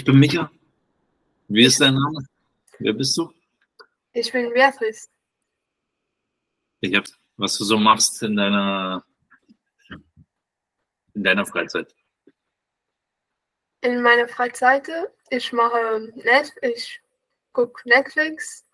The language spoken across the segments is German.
Ich bin Micha. Wie ist dein Name? Wer bist du? Ich bin Beatrice. Was du so machst in deiner Freizeit. In meiner Freizeit, ich gucke Netflix.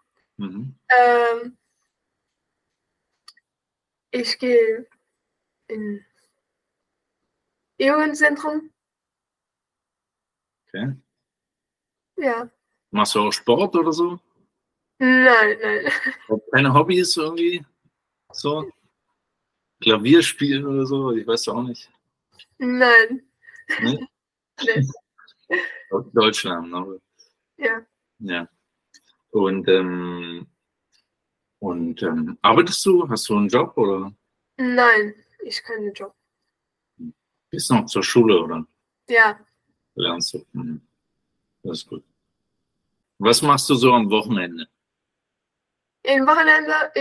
Ich gehe in Jugendzentrum. Okay. Ja. Machst du auch Sport oder so? Nein. Keine Hobbys irgendwie? So? Klavier spielen oder so? Ich weiß auch nicht. Nein. Nee? Nee. Deutschland, aber. Ja. Ja. Und arbeitest du? Hast du einen Job oder? Nein, ich keinen Job. Bist du noch zur Schule oder? Ja. Lernst du? Das ist gut. Was machst du so am Wochenende? Am Wochenende,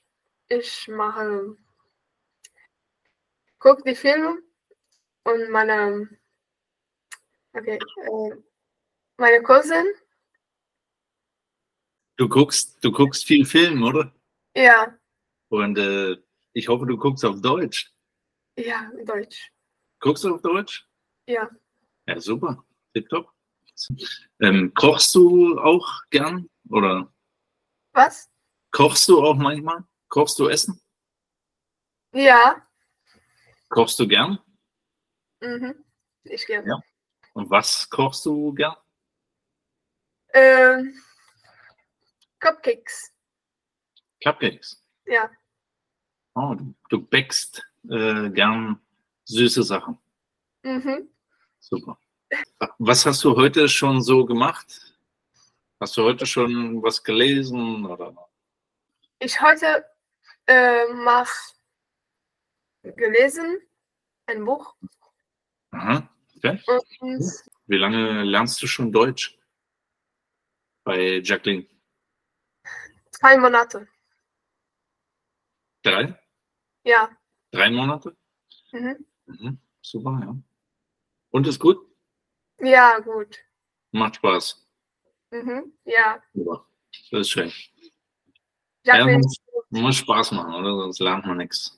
gucke die Filme und meine Cousin. Du guckst viel Film, oder? Ja. Und ich hoffe, du guckst auf Deutsch. Ja, Deutsch. Guckst du auf Deutsch? Ja. Ja, super. Tipptopp. Kochst du auch gern? Oder? Was? Kochst du auch manchmal? Kochst du Essen? Ja. Kochst du gern? Ich gern. Ja. Und was kochst du gern? Cupcakes. Cupcakes? Ja. Oh, du backst gern süße Sachen. Super. Was hast du heute schon so gemacht? Hast du heute schon was gelesen? Oder? Ich heute gelesen, ein Buch. Aha, okay. Und Wie lange lernst du schon Deutsch? Bei Jacqueline? 2 Monate. 3? Ja. 3 Monate? Super, ja. Und ist gut? Ja, gut. Macht Spaß. Ja. Super. Das ist schön. Jacqueline, muss Spaß machen, oder? Sonst lernt man nichts.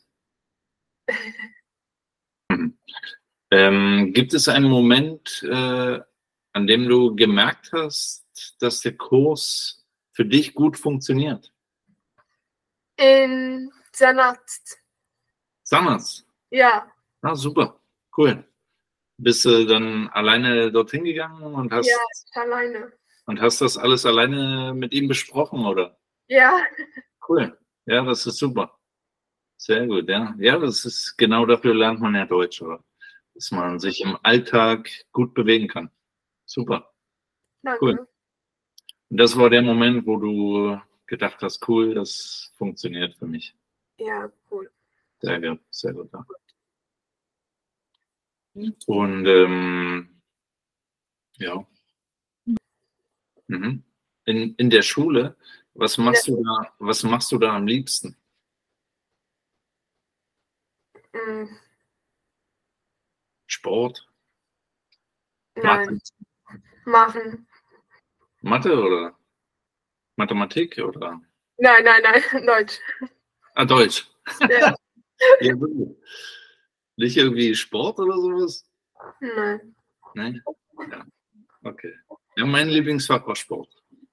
Gibt es einen Moment, an dem du gemerkt hast, dass der Kurs für dich gut funktioniert? in Zahnarzt. Zahnarzt? Ja. Ah, super. Cool. Bist du dann alleine dorthin gegangen und hast, Ja, alleine. und hast das alles alleine mit ihm besprochen, oder? Ja. Cool. Ja, das ist super. Sehr gut, ja. Ja, das ist genau dafür lernt man ja Deutsch, oder? Dass man sich im Alltag gut bewegen kann. Super. Danke. Cool. Und das war der Moment, wo du gedacht hast, cool, das funktioniert für mich. Ja, cool. Sehr gut, sehr gut. Ja. Und ja. In der Schule, was machst du da am liebsten? Sport? Nein. Machen. Mathe oder Mathematik oder? Nein, Deutsch. Ah, Deutsch. Ja. Ja, nicht irgendwie Sport oder sowas? Nein. Nein? Ja. Okay. Ja, mein Lieblingsfach war Sport.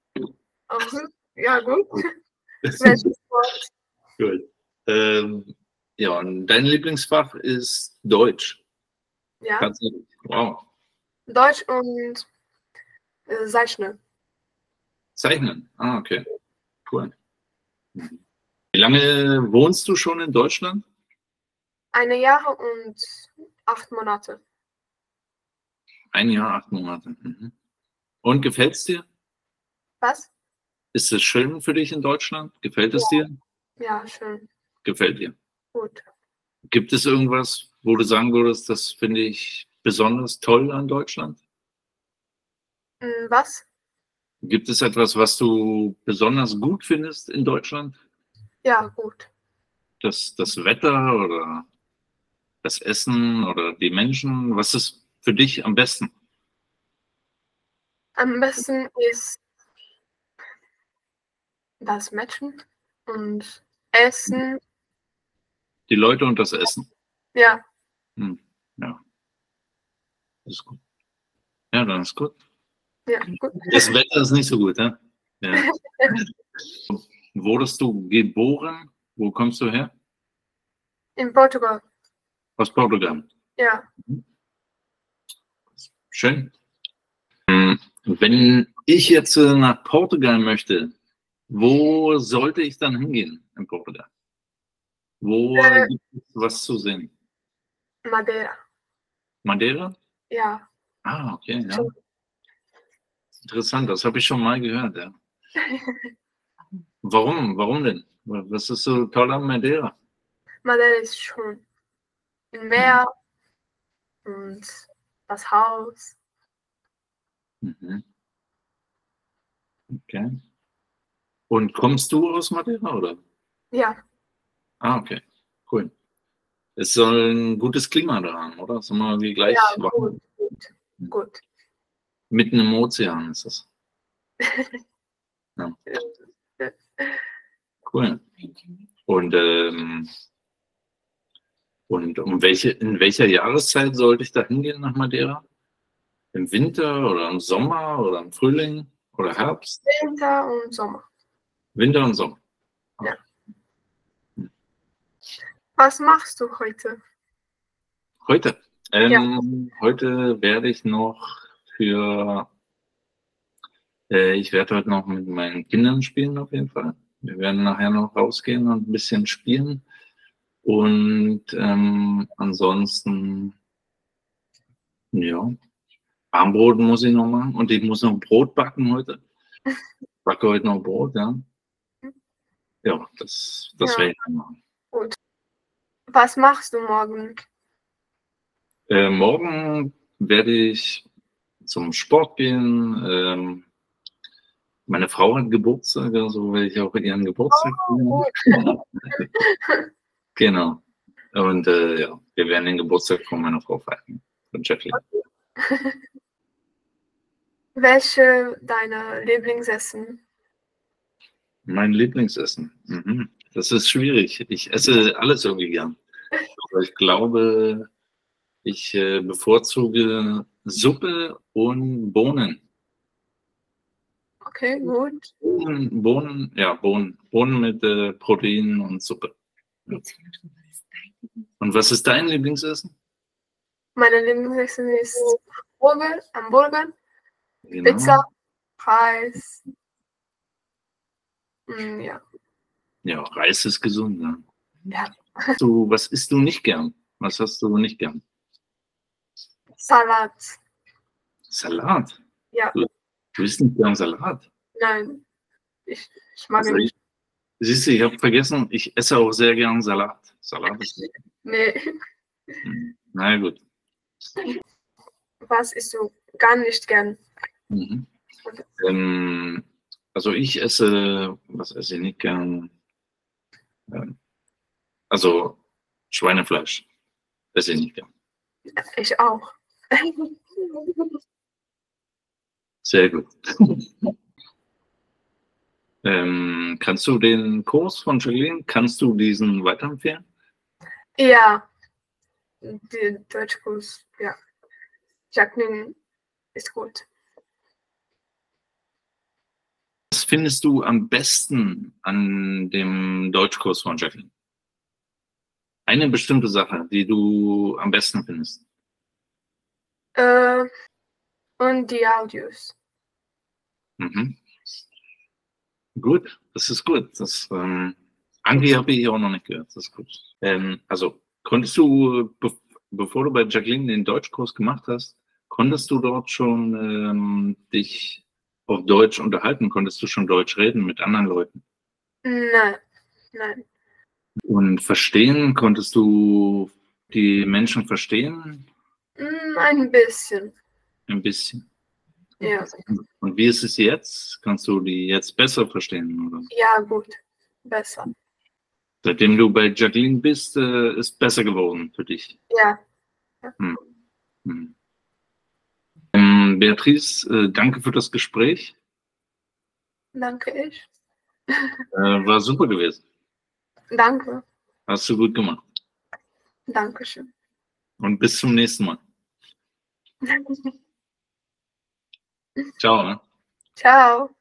Ja, gut. Welches Sport? Gut. Ja, und dein Lieblingsfach ist Deutsch. Ja. Tatsächlich. Wow. Deutsch und Zeichnen. Zeichnen. Ah, okay. Cool. Wie lange wohnst du schon in Deutschland? 1 Jahr und 8 Monate. 1 Jahr, 8 Monate. Und gefällt es dir? Was? Ist es schön für dich in Deutschland? Gefällt es dir? Ja, schön. Gefällt dir? Gut. Gibt es irgendwas, wo du sagen würdest, das finde ich besonders toll an Deutschland? Was? Gibt es etwas, was du besonders gut findest in Deutschland? Ja, gut. Das Wetter oder das Essen oder die Menschen? Was ist für dich am besten? Am besten ist das Matchen und Essen. Die Leute und das Essen. Ja. Ja. Das ist gut. Ja, dann ist gut. Ja, gut. Das Wetter ist nicht so gut, ja? Ja. Wurdest du geboren? Wo kommst du her? In Portugal. Aus Portugal. Ja. Schön. Wenn ich jetzt nach Portugal möchte, wo sollte ich dann hingehen in Portugal? Wo gibt es was zu sehen? Madeira. Madeira? Ja. Ah, okay, ja. Interessant, das habe ich schon mal gehört, ja. Warum? Warum denn? Was ist so toll an Madeira? Madeira ist schön. Im Meer und das Haus. Mhm. Okay. Und kommst du aus Madeira, oder? Ja. Ah, okay. Cool. Es soll ein gutes Klima da haben, oder? Ist immer wie gleich Ja, warm. gut. Mitten im Ozean ist das. Ja. Cool. Und in welcher Jahreszeit sollte ich da hingehen nach Madeira? Im Winter oder im Sommer oder im Frühling oder Herbst? Winter und Sommer. Winter und Sommer. Ja. Was machst du heute? Heute? Ja. Heute werde ich noch ich werde heute noch mit meinen Kindern spielen auf jeden Fall. Wir werden nachher noch rausgehen und ein bisschen spielen. Und ansonsten, ja, Armbrot muss ich noch machen und ich muss noch Brot backen heute. Ich backe heute noch Brot, ja. Ja, das werde ich dann machen. Gut. Was machst du morgen? Morgen werde ich zum Sport gehen. Meine Frau hat Geburtstag, also werde ich auch ihren Geburtstag feiern. Genau. Und ja, wir werden den Geburtstag von meiner Frau feiern, von Jacqueline. Welche deiner Lieblingsessen? Mein Lieblingsessen. Mhm. Das ist schwierig. Ich esse alles irgendwie gern. Aber ich glaube, ich bevorzuge Suppe und Bohnen. Okay, gut. Bohnen mit Protein und Suppe. Ja. Und was ist dein Lieblingsessen? Meine Lieblingsessen ist Hamburger, Genau. Pizza, Reis. Ja. Ja, Reis ist gesund. Ne? Ja. Was isst du nicht gern? Was hast du nicht gern? Salat. Salat? Ja. Du isst nicht gern Salat? Nein, ich mag nicht. Siehst du, ich habe vergessen, ich esse auch sehr gern Salat. Salat ist gut. Nee. Na gut. Was isst du gar nicht gern? Mhm. Also was esse ich nicht gern? Also Schweinefleisch esse ich nicht gern. Ich auch. Sehr gut. Kannst du den Kurs von Jacqueline, kannst du diesen weiterempfehlen? Ja, der Deutschkurs, ja. Jacqueline ist gut. Was findest du am besten an dem Deutschkurs von Jacqueline? Eine bestimmte Sache, die du am besten findest? Und die Audios. Mhm. Gut, das ist gut. Angie habe ich auch noch nicht gehört. Das ist gut. Also konntest du, bevor du bei Jacqueline den Deutschkurs gemacht hast, konntest du dort schon dich auf Deutsch unterhalten? Konntest du schon Deutsch reden mit anderen Leuten? Nein. Und verstehen? Konntest du die Menschen verstehen? Ein bisschen. Ein bisschen. Ja. Und wie ist es jetzt? Kannst du die jetzt besser verstehen? Oder? Ja, gut. Besser. Seitdem du bei Jacqueline bist, ist besser geworden für dich. Ja. Beatrice, danke für das Gespräch. Danke ich. War super gewesen. Danke. Hast du gut gemacht. Dankeschön. Und bis zum nächsten Mal. Ciao. Ne? Ciao.